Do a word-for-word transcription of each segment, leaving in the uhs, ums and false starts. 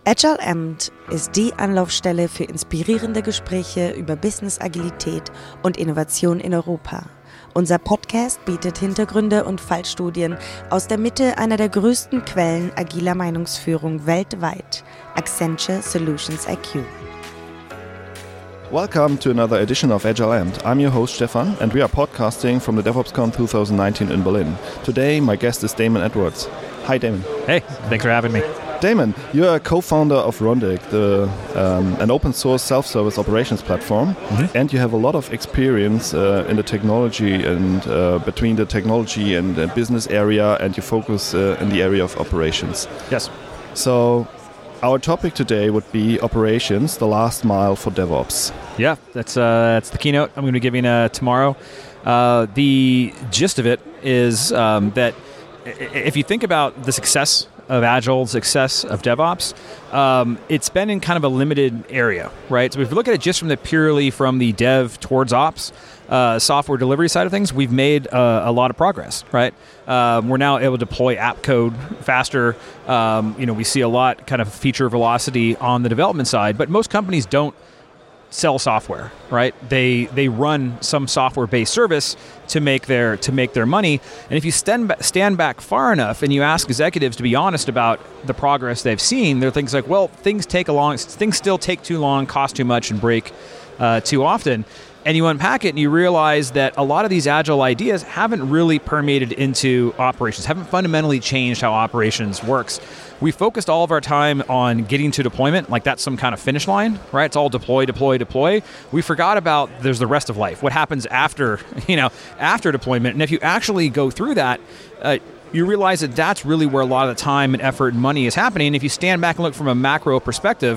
Agile Amt ist die Anlaufstelle für inspirierende Gespräche über Business-Agilität und Innovation in Europa. Unser Podcast bietet Hintergründe und Fallstudien aus der Mitte einer der größten Quellen agiler Meinungsführung weltweit, Accenture Solutions I Q. Welcome to another edition of Agile Amt. I'm your host Stefan, and we are podcasting from the DevOpsCon twenty nineteen in Berlin. Today, my guest is Damon Edwards. Hi, Damon. Hey, thanks for having me. Damon, you're a co-founder of Rundeck, the, um, an open-source self-service operations platform, mm-hmm. and you have a lot of experience uh, in the technology and uh, between the technology and the business area, and you focus uh, in the area of operations. Yes. So, our topic today would be operations, the last mile for DevOps. Yeah, that's uh, that's the keynote I'm going to be giving uh, tomorrow. Uh, the gist of it is um, that if you think about the success of Agile, success of DevOps, um, it's been in kind of a limited area, right? So if you look at it just from the purely from the dev towards ops, uh, software delivery side of things, we've made uh, a lot of progress, right? Um, we're now able to deploy app code faster. Um, you know, we see a lot kind of feature velocity on the development side, but most companies don't sell software, right? They they run some software-based service to make their to make their money. And if you stand ba- stand back far enough and you ask executives to be honest about the progress they've seen, there are things like, well, things take a long, things still take too long, cost too much, and break uh, too often. And you unpack it and you realize that a lot of these agile ideas haven't really permeated into operations, haven't fundamentally changed how operations works. We focused all of our time on getting to deployment, like that's some kind of finish line, right? It's all deploy, deploy, deploy. We forgot about there's the rest of life, what happens after, you know, after deployment. And if you actually go through that, uh, you realize that that's really where a lot of the time and effort and money is happening. And if you stand back and look from a macro perspective,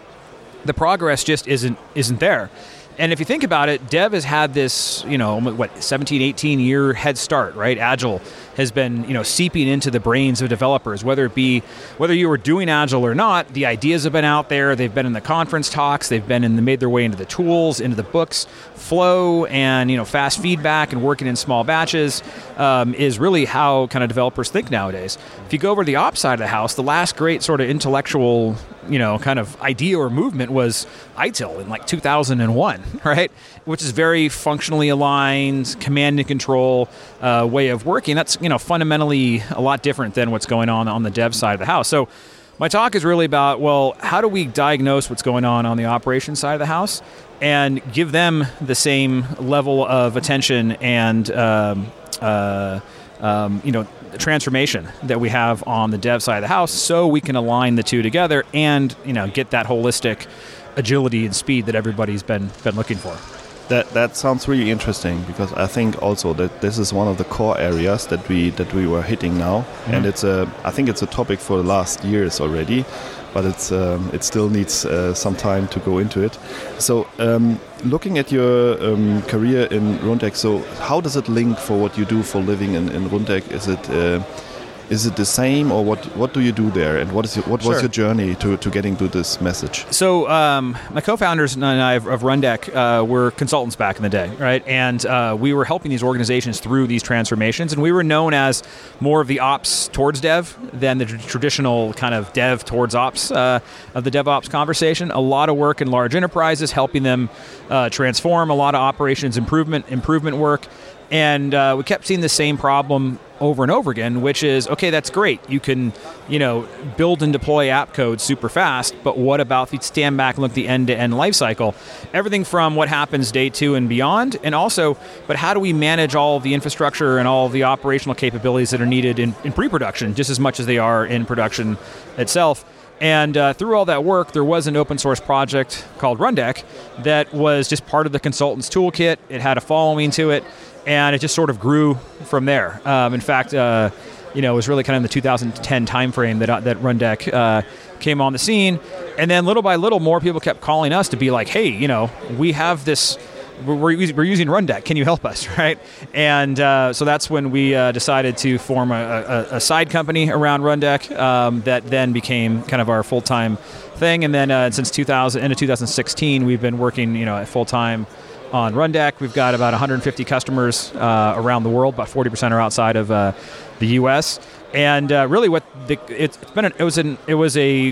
the progress just isn't isn't there. And if you think about it, Dev has had this, you know, what, seventeen, eighteen year head start, right? Agile has been, you know, seeping into the brains of developers, whether it be, whether you were doing Agile or not, the ideas have been out there, they've been in the conference talks, they've been in the, made their way into the tools, into the books. Flow and, you know, fast feedback and working in small batches um, is really how kind of developers think nowadays. If you go over to the ops side of the house, the last great sort of intellectual, you know, kind of idea or movement was I T I L in like two thousand one, right? Which is very functionally aligned, command and control uh, way of working. That's, you know, fundamentally a lot different than what's going on on the dev side of the house. So my talk is really about, well, how do we diagnose what's going on on the operations side of the house and give them the same level of attention and, um, uh, um, you know, transformation that we have on the dev side of the house, so we can align the two together and, you know, get that holistic agility and speed that everybody's been been looking for. That that sounds really interesting, because I think also that this is one of the core areas that we that we were hitting now, mm-hmm. and it's a I think it's a topic for the last years already, but it's um, it still needs uh, some time to go into it. So um, looking at your um, career in Rundeck, so how does it link for what you do for living in, in Rundeck? Is it uh, Is it the same, or what? What do you do there, and what is your, what sure. was your journey to, to getting to this message? So um, my co-founders and I of, of Rundeck uh, were consultants back in the day, right? And uh, we were helping these organizations through these transformations, and we were known as more of the ops towards dev than the traditional kind of dev towards ops uh, of the DevOps conversation. A lot of work in large enterprises, helping them uh, transform. A lot of operations improvement improvement work. And uh, we kept seeing the same problem over and over again, which is, okay, that's great. You can, you know, build and deploy app code super fast, but what about if you stand back and look at the end-to-end lifecycle? Everything from what happens day two and beyond, and also, but how do we manage all of the infrastructure and all of the operational capabilities that are needed in, in pre-production, just as much as they are in production itself? And uh, through all that work, there was an open source project called Rundeck that was just part of the consultant's toolkit. It had a following to it, and it just sort of grew from there. Um, in fact, uh, you know, it was really kind of in the two thousand ten timeframe that uh, that Rundeck uh, came on the scene. And then little by little, more people kept calling us to be like, hey, you know, we have this, we're, we're using Rundeck, can you help us, right? And uh, so that's when we uh, decided to form a, a, a side company around Rundeck um, that then became kind of our full-time thing. And then uh, since two thousand, end of two thousand sixteen, we've been working, you know, full-time on Rundeck. We've got about one hundred fifty customers uh, around the world. About forty percent are outside of uh, the U S. And uh, really, what the, it's been, an, it was an, it was a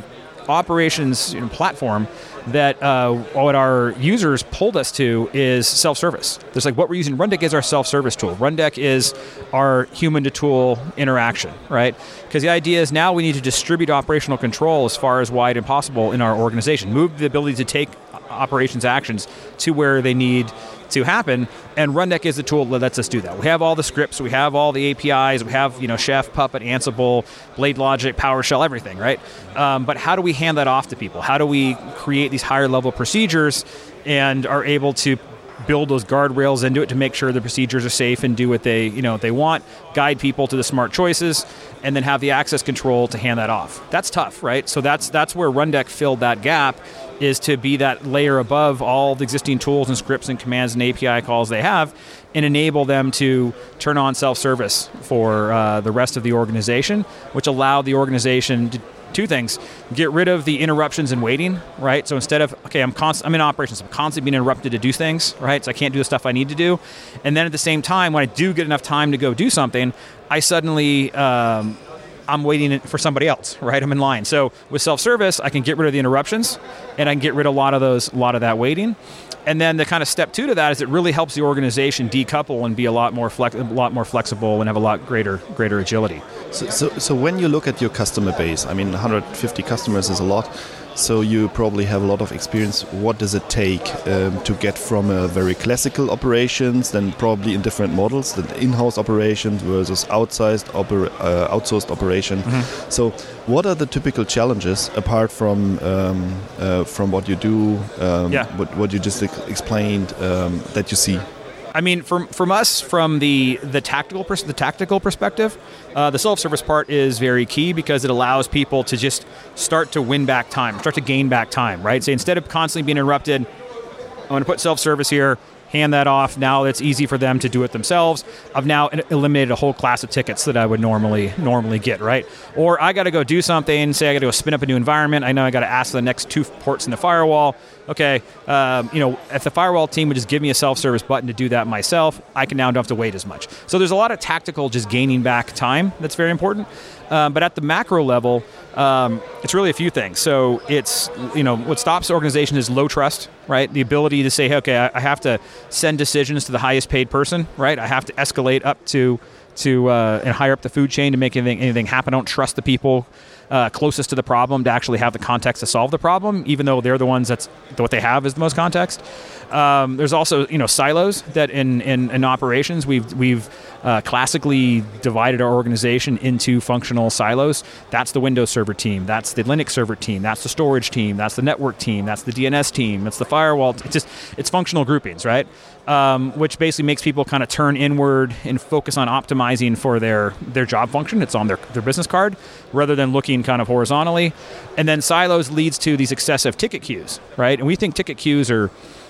operations you know, platform that uh, what our users pulled us to is self-service. There's like what we're using. Rundeck is our self-service tool. Rundeck is our human-to-tool interaction, right? Because the idea is now we need to distribute operational control as far as wide and possible in our organization. Move the ability to take operations actions to where they need to happen, and Rundeck is the tool that lets us do that. We have all the scripts, we have all the A P Is, we have you know Chef, Puppet, Ansible, BladeLogic, PowerShell, everything, right? Um, but how do we hand that off to people? How do we create these higher level procedures and are able to build those guardrails into it to make sure the procedures are safe and do what they you know what they want, guide people to the smart choices, and then have the access control to hand that off. That's tough, right? So that's that's where Rundeck filled that gap, is to be that layer above all the existing tools and scripts and commands and A P I calls they have, and enable them to turn on self-service for uh, the rest of the organization, which allowed the organization to two things: get rid of the interruptions and waiting, right? So instead of, okay, I'm const- I'm in operations, I'm constantly being interrupted to do things, right? So I can't do the stuff I need to do. And then at the same time, when I do get enough time to go do something, I suddenly, um, I'm waiting for somebody else, right? I'm in line. So with self-service, I can get rid of the interruptions, and I can get rid of a lot of those, a lot of that waiting. And then the kind of step two to that is it really helps the organization decouple and be a lot more flex, a lot more flexible and have a lot greater, greater agility. So, so, so when you look at your customer base, I mean, one hundred fifty customers is a lot. So you probably have a lot of experience. What does it take um, to get from a very classical operations, then probably in different models, the in-house operations versus outsized oper- uh, outsourced operation? Mm-hmm. So what are the typical challenges apart from um, uh, from what you do, um, yeah. what, what you just ex- explained um, that you see? I mean, from from us, from the the tactical pers- the tactical perspective, uh, the self-service part is very key because it allows people to just start to win back time, start to gain back time, right? So instead of constantly being interrupted, I'm going to put self-service here, hand that off. Now it's easy for them to do it themselves. I've now eliminated a whole class of tickets that I would normally normally get, right? Or I got to go do something, say I got to go spin up a new environment. I know I got to ask the next two ports in the firewall. Okay, um, you know, if the firewall team would just give me a self-service button to do that myself, I can now don't have to wait as much. So there's a lot of tactical just gaining back time that's very important. Um, but at the macro level, um, it's really a few things. So it's, you know, what stops the organization is low trust, right? The ability to say, okay, I, I have to send decisions to the highest paid person, right? I have to escalate up to to uh, and higher up the food chain to make anything anything happen. I don't trust the people uh, closest to the problem to actually have the context to solve the problem, even though they're the ones that's what they have is the most context. Um, there's also, you know, silos that in, in, in operations we've we've uh, classically divided our organization into functional silos. That's the Windows Server team. That's the Linux Server team. That's the storage team. That's the network team. That's the D N S team. That's the firewall. It's just it's functional groupings, right? Um, which basically makes people kind of turn inward and focus on optimizing for their their job function. It's on their their business card rather than looking kind of horizontally. And then silos leads to these excessive ticket queues, right? And we think ticket queues are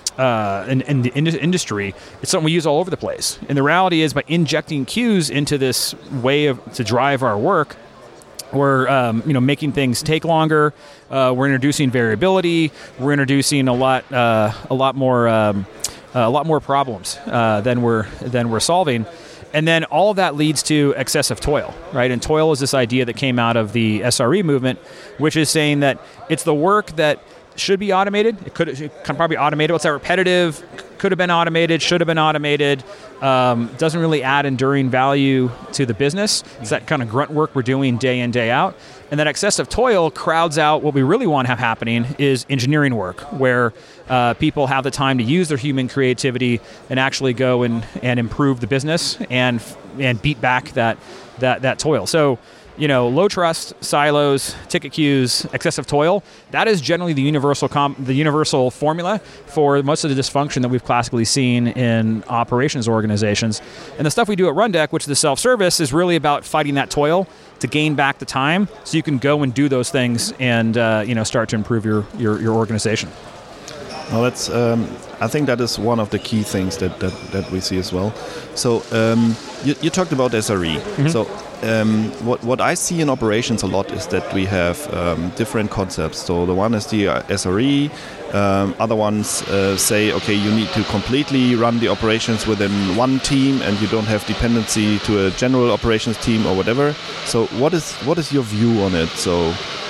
Uh, in, in the in- industry, it's something we use all over the place. And the reality is, by injecting queues into this way of to drive our work, we're um, you know making things take longer. Uh, we're introducing variability. We're introducing a lot uh, a lot more um, a lot more problems uh, than we're than we're solving. And then all of that leads to excessive toil, right? And toil is this idea that came out of the S R E movement, which is saying that it's the work that should be automated. It could it can probably automate it. What's that repetitive? Could have been automated. Should have been automated. Um, doesn't really add enduring value to the business. It's that kind of grunt work we're doing day in, day out. And that excessive toil crowds out what we really want to have happening is engineering work, where uh, people have the time to use their human creativity and actually go and, and improve the business and and beat back that that that toil. So, you know, low trust, silos, ticket queues, excessive toil, that is generally the universal com- the universal formula for most of the dysfunction that we've classically seen in operations organizations. And the stuff we do at Rundeck, which is the self-service, is really about fighting that toil to gain back the time so you can go and do those things and, uh, you know, start to improve your, your, your organization. Well, that's. Um, I think that is one of the key things that, that, that we see as well. So um, you, you talked about S R E. Mm-hmm. So um, what what I see in operations a lot is that we have um, different concepts. So the one is the S R E. Um, other ones uh, say, okay, you need to completely run the operations within one team, and you don't have dependency to a general operations team or whatever. So what is what is your view on it? So.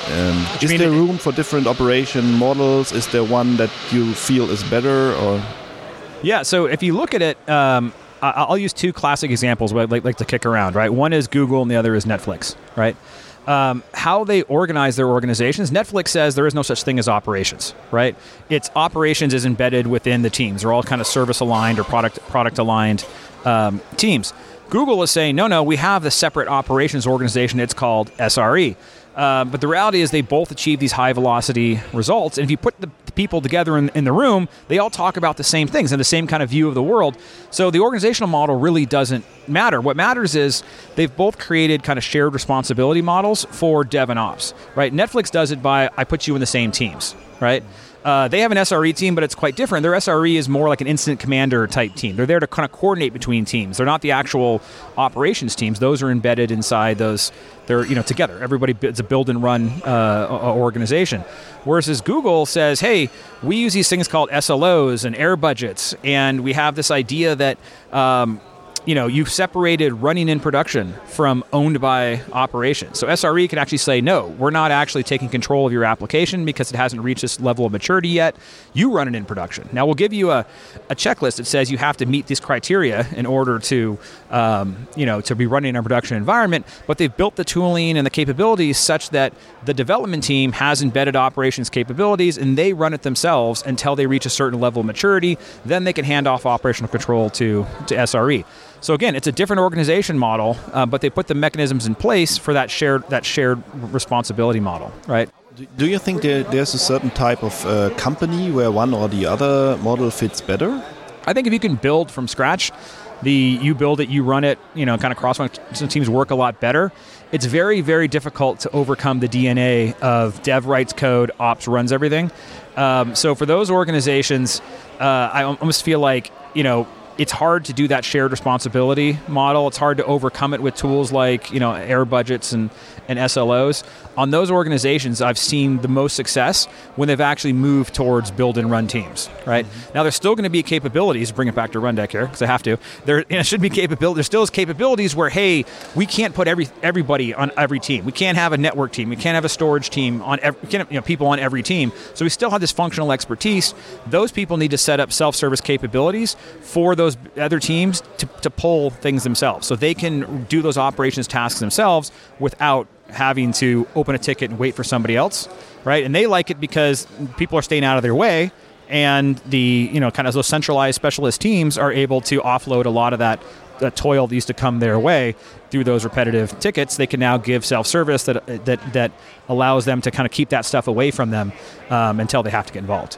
Um, is there room for different operation models? Is there one that you feel is better? Or yeah, so if you look at it, um, I'll use two classic examples where I'd like, like to kick around, right? One is Google and the other is Netflix, right? Um, how they organize their organizations. Netflix says there is no such thing as operations, right? It's operations is embedded within the teams. They're all kind of service aligned or product product aligned um, teams. Google is saying, no, no, we have the separate operations organization. It's called S R E. Uh, but the reality is they both achieve these high velocity results. And if you put the, the people together in, in the room, they all talk about the same things and the same kind of view of the world. So the organizational model really doesn't matter. What matters is they've both created kind of shared responsibility models for dev and ops, right? Netflix does it by, I put you in the same teams, right? Uh, they have an S R E team, but it's quite different. Their S R E is more like an incident commander type team. They're there to kind of coordinate between teams. They're not the actual operations teams. Those are embedded inside those. They're you know together. Everybody, it's a build and run uh, organization. Whereas Google says, hey, we use these things called S L Os and air budgets, and we have this idea that um, you know, you've separated running in production from owned by operations. So S R E can actually say, no, we're not actually taking control of your application because it hasn't reached this level of maturity yet. You run it in production. Now we'll give you a, a checklist that says you have to meet these criteria in order to, um, you know, to be running in a production environment, but they've built the tooling and the capabilities such that the development team has embedded operations capabilities and they run it themselves until they reach a certain level of maturity. Then they can hand off operational control to, to S R E. So again, it's a different organization model, uh, but they put the mechanisms in place for that shared that shared responsibility model, right? Do you think there, there's a certain type of uh, company where one or the other model fits better? I think if you can build from scratch, the you build it, you run it, you know, kind of cross-functional teams work a lot better. It's very, very difficult to overcome the D N A of dev writes code, ops runs everything. Um, so for those organizations, uh, I almost feel like, you know, it's hard to do that shared responsibility model. It's hard to overcome it with tools like, you know, air budgets and, and S L Os. On those organizations, I've seen the most success when they've actually moved towards build and run teams, right? Mm-hmm. Now, there's still going to be capabilities, bring it back to Rundeck here, because I have to. There you know, should be capability. There still is capabilities where, hey, we can't put every everybody on every team. We can't have a network team. We can't have a storage team on every, we can't have, you know, people on every team. So we still have this functional expertise. Those people need to set up self-service capabilities for those other teams to, to pull things themselves. So they can do those operations tasks themselves without having to open a ticket and wait for somebody else, right? And they like it because people are staying out of their way, and the you know kind of those centralized specialist teams are able to offload a lot of that, that toil that used to come their way through those repetitive tickets. They can now give self-service that that that allows them to kind of keep that stuff away from them um, until they have to get involved.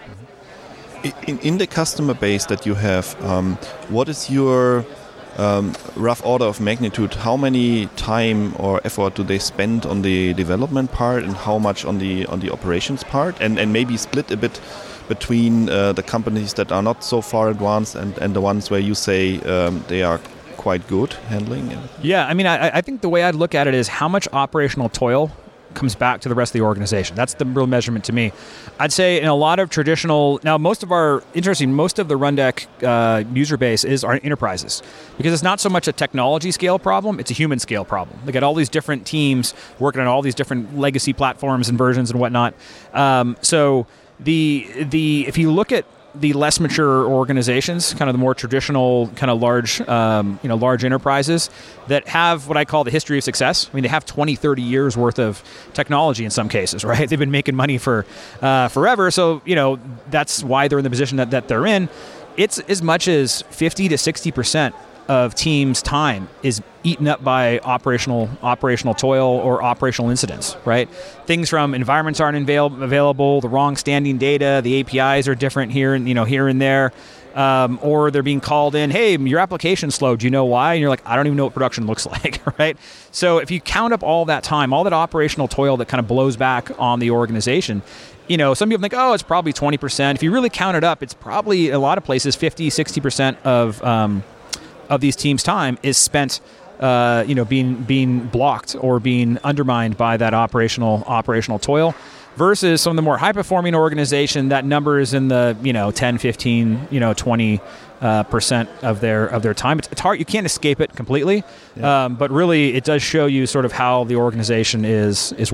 In, in the customer base that you have, um, what is your Um, rough order of magnitude? How many time or effort do they spend on the development part, and how much on the on the operations part, and and maybe split a bit between uh, the companies that are not so far advanced and, and the ones where you say um, they are quite good handling it? Yeah, I mean, I, I think the way I'd look at it is how much operational toil comes back to the rest of the organization. That's the real measurement to me. I'd say in a lot of traditional, now most of our, interesting, most of the Rundeck uh, user base is our enterprises, because it's not so much a technology scale problem, it's a human scale problem. They got all these different teams working on all these different legacy platforms and versions and whatnot. Um, so the the if you look at the less mature organizations, kind of the more traditional, kind of large, um, you know, large enterprises that have what I call the history of success. I mean, they have twenty, thirty years worth of technology in some cases, right? They've been making money for uh, forever. So, you know, that's why they're in the position that, that they're in. It's as much as fifty to sixty percent of teams' time is eaten up by operational operational toil or operational incidents, right? Things from environments aren't avail- available, the wrong standing data, the A P Is are different here and you know here and there, um, or they're being called in, hey, your application's slow, do you know why? And you're like, I don't even know what production looks like, right? So if you count up all that time, all that operational toil that kind of blows back on the organization, you know, some people think, oh, it's probably twenty percent. If you really count it up, it's probably, a lot of places, fifty, sixty percent of um, of these teams' time is spent, uh, you know, being being blocked or being undermined by that operational operational toil. Versus some of the more high-performing organization, that number is in the you know ten, fifteen, you know twenty uh, percent of their of their time. It's, it's hard; you can't escape it completely, yeah. um, but really, it does show you sort of how the organization is is working.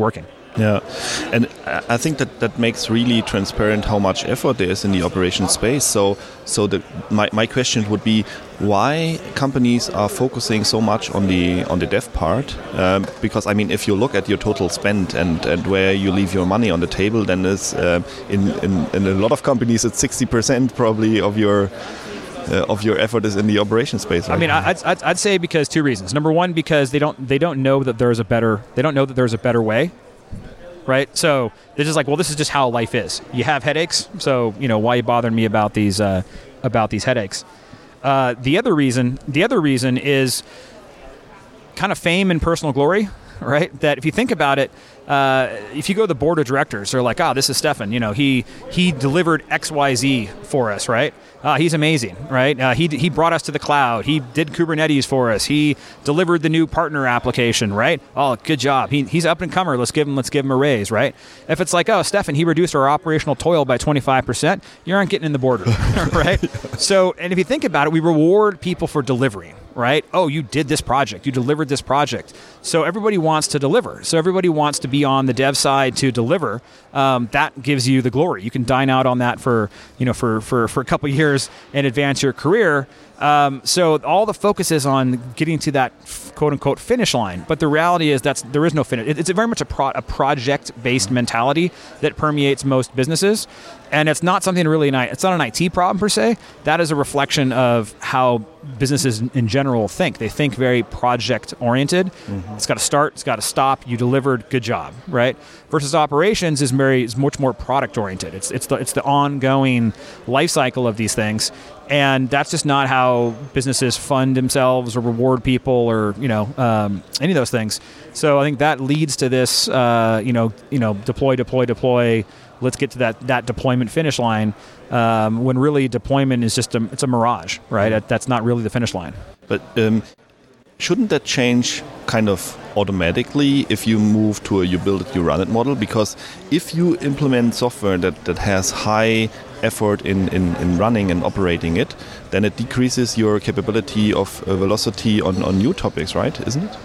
Yeah, and I think that that makes really transparent how much effort there is in the operation space. So, so the, my my question would be why companies are focusing so much on the on the dev part. Um, because I mean, if you look at your total spend and, and where you leave your money on the table, then it's uh, in, in in a lot of companies it's sixty percent probably of your. Uh, of your effort is in the operation space. Right? I mean, I'd, I'd, I'd say because two reasons. Number one, because they don't they don't know that there's a better they don't know that there's a better way, right? So they're just like, well, this is just how life is. You have headaches, so you know why you bothering me about these uh, about these headaches. Uh, the other reason, the other reason is kind of fame and personal glory, right? That if you think about it, uh, if you go to the board of directors, they're like, oh, this is Stefan. You know, he he delivered X Y Z for us, right? Uh, he's amazing, right? Uh, he he brought us to the cloud. He did Kubernetes for us. He delivered the new partner application, right? Oh, good job. He he's up and comer. Let's give him let's give him a raise, right? If it's like, oh, Stefan, he reduced our operational toil by twenty-five percent, you aren't getting in the boardroom, right? So, and if you think about it, we reward people for delivering, right? Oh, you did this project. You delivered this project. So everybody wants to deliver. So everybody wants to be on the dev side to deliver. Um, that gives you the glory. You can dine out on that for you know for for for a couple of years and advance your career. Um, so all the focus is on getting to that quote unquote finish line. But the reality is that's there is no finish. It, it's a very much a, pro, a project-based mentality that permeates most businesses. And it's not something really, it's not an I T problem per se. That is a reflection of how businesses in general think. They think very project-oriented. Mm-hmm. It's got to start, it's got to stop. You delivered, good job, right? Versus operations is very is much more product-oriented. It's it's the it's the ongoing life cycle of these things, and that's just not how businesses fund themselves or reward people or you know um, any of those things. So I think that leads to this uh, you know you know deploy, deploy, deploy. Let's get to that, that deployment finish line um, when really deployment is just a, it's a mirage, right? Mm-hmm. That's not really the finish line. But um, shouldn't that change kind of automatically if you move to a you build it, you run it model? Because if you implement software that, that has high effort in, in, in running and operating it, then it decreases your capability of uh, velocity on, on new topics, right? Isn't it?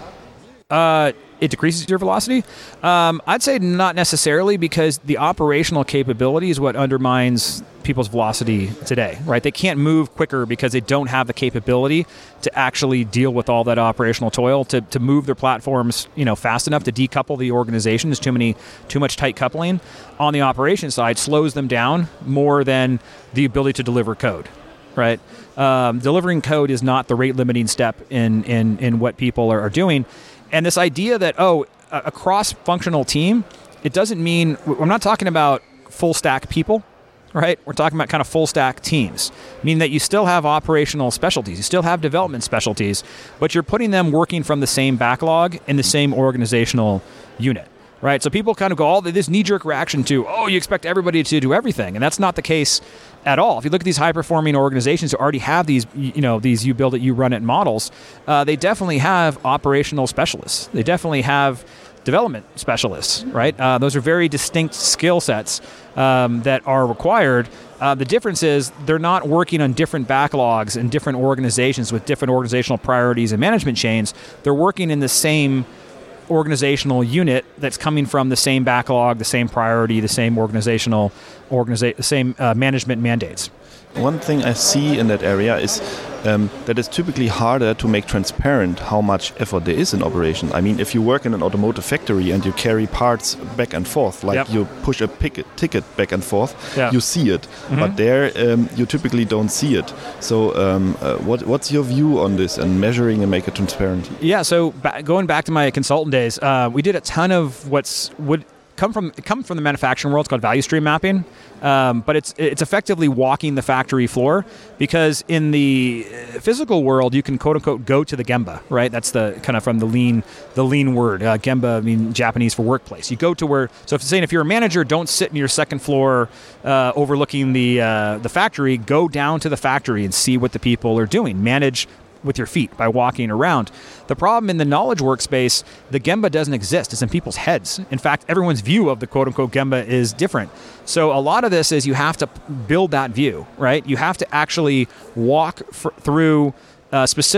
Uh, it decreases your velocity? Um, I'd say not necessarily, because the operational capability is what undermines people's velocity today, right? They can't move quicker because they don't have the capability to actually deal with all that operational toil, to, to move their platforms, you know, fast enough to decouple the organization. There's too many, too much tight coupling on the operation side, slows them down more than the ability to deliver code, right? Um, delivering code is not the rate limiting step in, in, in what people are, are doing. And this idea that, oh, a cross-functional team, it doesn't mean, we're not talking about full-stack people, right? We're talking about kind of full-stack teams, meaning that you still have operational specialties, you still have development specialties, but you're putting them working from the same backlog in the same organizational unit, right? So people kind of go all this knee-jerk reaction to, oh, you expect everybody to do everything, and that's not the case at all. If you look at these high-performing organizations who already have these, you know, these you build it, you run it models, uh, they definitely have operational specialists. They definitely have development specialists, right? Uh, those are very distinct skill sets um, that are required. Uh, the difference is they're not working on different backlogs in different organizations with different organizational priorities and management chains. They're working in the same organizational unit that's coming from the same backlog, the same priority, the same organizational, organiza- the same uh, management mandates. One thing I see in that area is um, that it's typically harder to make transparent how much effort there is in operation. I mean, if you work in an automotive factory and you carry parts back and forth, like yep. you push a picket, ticket back and forth, yeah. you see it. Mm-hmm. But there, um, you typically don't see it. So um, uh, what, what's your view on this and measuring and make it transparent? Yeah, so ba- going back to my consultant days, uh, we did a ton of what's would come from come from the manufacturing world. It's called value stream mapping, um, but it's it's effectively walking the factory floor, because in the physical world you can quote unquote go to the Gemba, right? That's the kind of from the lean the lean word. Uh, Gemba, I mean Japanese for workplace. You go to where. So if saying if you're a manager, don't sit in your second floor uh, overlooking the uh, the factory. Go down to the factory and see what the people are doing. Manage with your feet by walking around. The problem in the knowledge workspace, the Gemba doesn't exist. It's in people's heads. In fact, everyone's view of the quote-unquote Gemba is different. So a lot of this is you have to build that view, right? You have to actually walk f- through uh, specific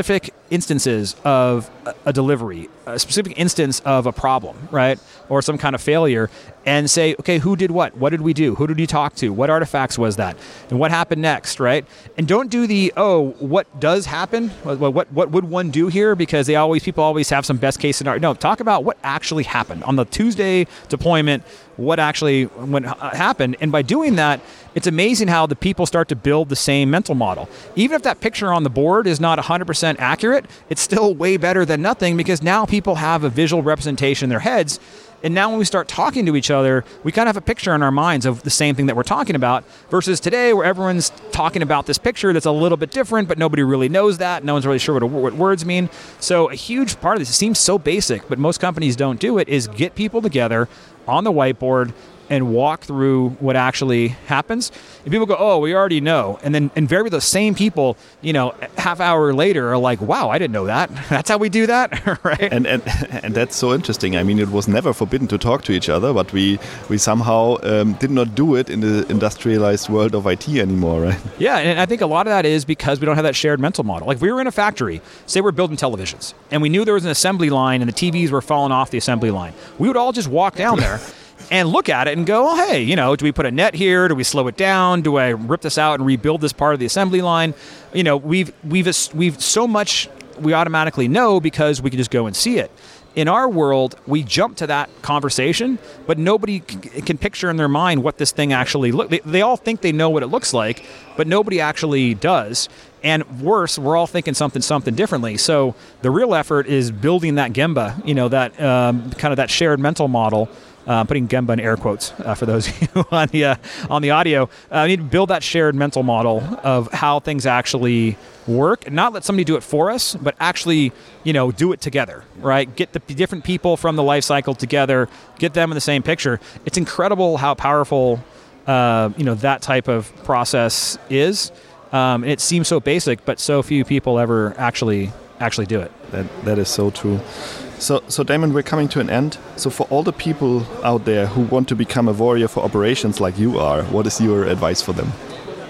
instances of a delivery, a specific instance of a problem, right? Or some kind of failure, and say, okay, who did what? What did we do? Who did we talk to? What artifacts was that? And what happened next, right? And don't do the, oh, what does happen? What, what, what would one do here? Because they always, people always have some best case scenario. No, talk about what actually happened. On the Tuesday deployment, what actually what happened. And by doing that, it's amazing how the people start to build the same mental model. Even if that picture on the board is not one hundred percent accurate, it's still way better than nothing, because now people have a visual representation in their heads. And now when we start talking to each other, we kind of have a picture in our minds of the same thing that we're talking about, versus today where everyone's talking about this picture that's a little bit different, but nobody really knows that. No one's really sure what, what words mean. So a huge part of this, it seems so basic, but most companies don't do it, is get people together on the whiteboard and walk through what actually happens. And people go, oh, we already know. And then invariably those same people, you know, half hour later are like, wow, I didn't know that. That's how we do that, right? And, and and that's so interesting. I mean, it was never forbidden to talk to each other, but we, we somehow um, did not do it in the industrialized world of I T anymore, right? Yeah, and I think a lot of that is because we don't have that shared mental model. Like if we were in a factory, say we're building televisions, and we knew there was an assembly line and the T Vs were falling off the assembly line. We would all just walk down there and look at it and go, oh, hey, you know, do we put a net here? Do we slow it down? Do I rip this out and rebuild this part of the assembly line? You know, we've we've we've so much we automatically know because we can just go and see it. In our world, we jump to that conversation, but nobody c- can picture in their mind what this thing actually looks. They, they all think they know what it looks like, but nobody actually does. And worse, we're all thinking something something differently. So the real effort is building that Gemba, you know, that um, kind of that shared mental model. Uh, putting Gemba in air quotes uh, for those of you on the uh, on the audio. I uh, need to build that shared mental model of how things actually work, and not let somebody do it for us, but actually, you know, do it together, right? Get the different people from the life cycle together, get them in the same picture. It's incredible how powerful, uh, you know, that type of process is. Um, and it seems so basic, but so few people ever actually actually do it. That that is so true. So, so Damon, we're coming to an end. So for all the people out there who want to become a warrior for operations like you are, what is your advice for them?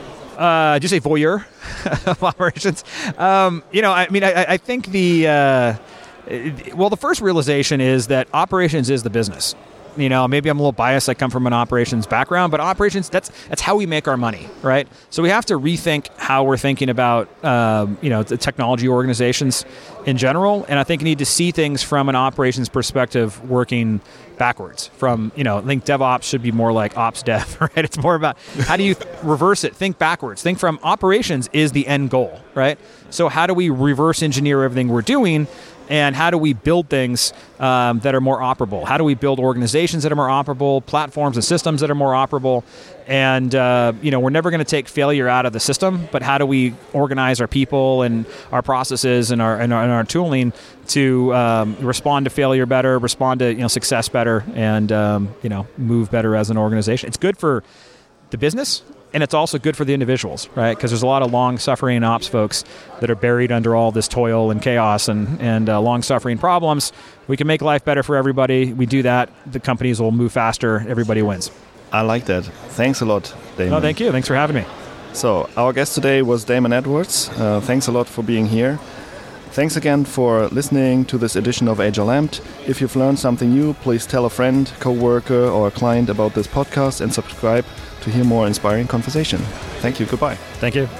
Uh, did you say voyeur of operations? Um, you know, I mean, I, I think the, uh, well, the first realization is that operations is the business. You know, maybe I'm a little biased. I come from an operations background, but operations, that's that's how we make our money, right? So we have to rethink how we're thinking about, um, you know, the technology organizations in general. And I think you need to see things from an operations perspective working backwards from, you know, I think DevOps should be more like ops dev, right? It's more about how do you reverse it? Think backwards. Think from operations is the end goal, right? So how do we reverse engineer everything we're doing? And how do we build things um, that are more operable? How do we build organizations that are more operable, platforms and systems that are more operable? And, uh, you know, we're never going to take failure out of the system, but how do we organize our people and our processes and our and our, and our tooling to um, respond to failure better, respond to, you know, success better, and, um, you know, move better as an organization? It's good for the business. And it's also good for the individuals, right? Because there's a lot of long-suffering ops folks that are buried under all this toil and chaos and, and uh, long-suffering problems. We can make life better for everybody. We do that, the companies will move faster. Everybody wins. I like that. Thanks a lot, Damon. No, thank you. Thanks for having me. So our guest today was Damon Edwards. Uh, thanks a lot for being here. Thanks again for listening to this edition of Agile Amped. If you've learned something new, please tell a friend, coworker, or a client about this podcast and subscribe to hear more inspiring conversation. Thank you. Goodbye. Thank you.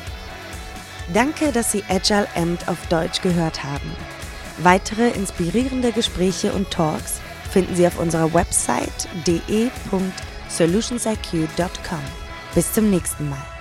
Danke, dass Sie Agile Amped auf Deutsch gehört haben. Weitere inspirierende Gespräche und Talks finden Sie auf unserer Website d e punkt solutions i q punkt com. Bis zum nächsten Mal.